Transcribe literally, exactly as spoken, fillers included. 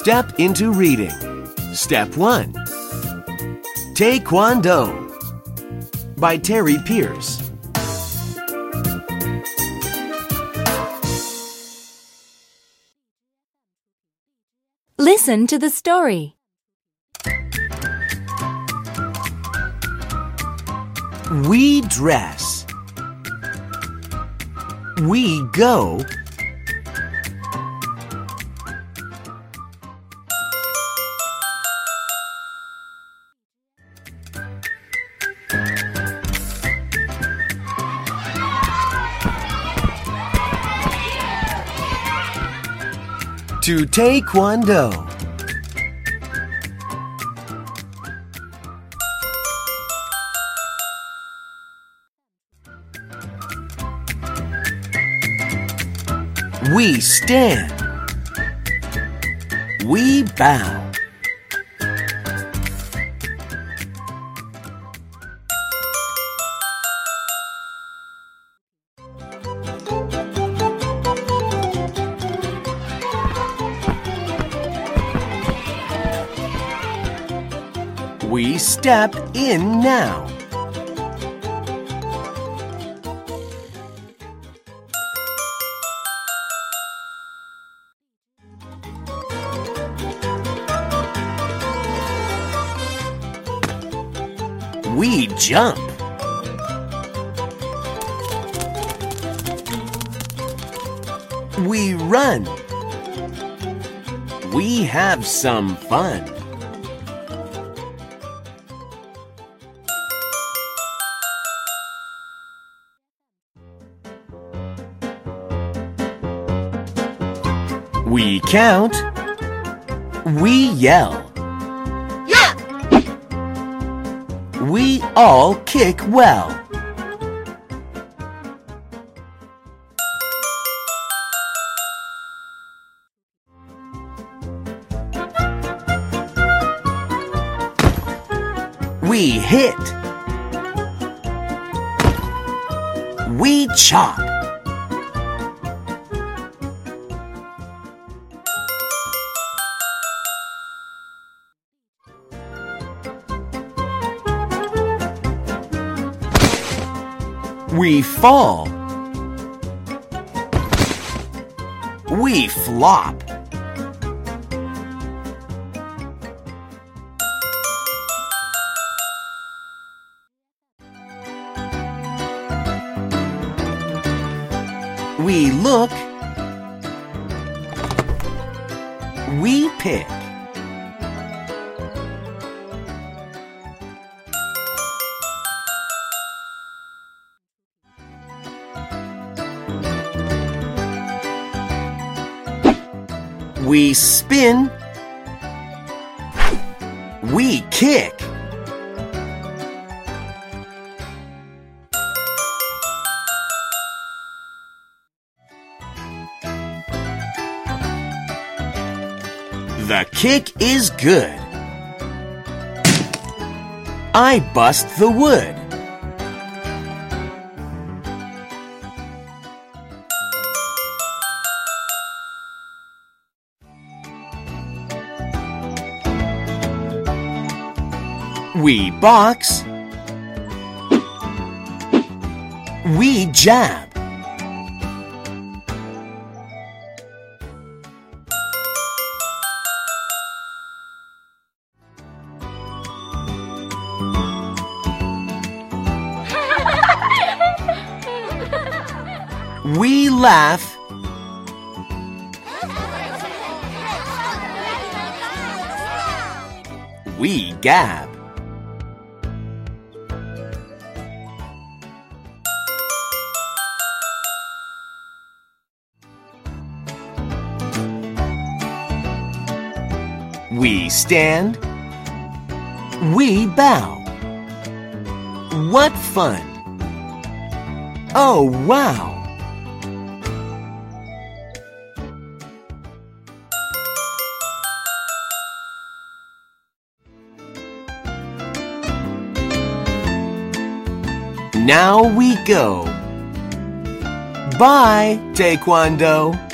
step into reading. Step one. Taekwondo by Terry Pierce. Listen to the story. We dress. We go. To Taekwondo. We stand. We bow. We step in now. We jump. We run. We have some fun. We count. We yell. Yeah! We all kick well. We hit. We chop. We fall. We flop. We look. We pick. We spin. We kick. The kick is good. I bust the wood. We box. We jab. We laugh. We gab. We stand. We bow. What fun! Oh, wow! Now we go. Bye, Taekwondo.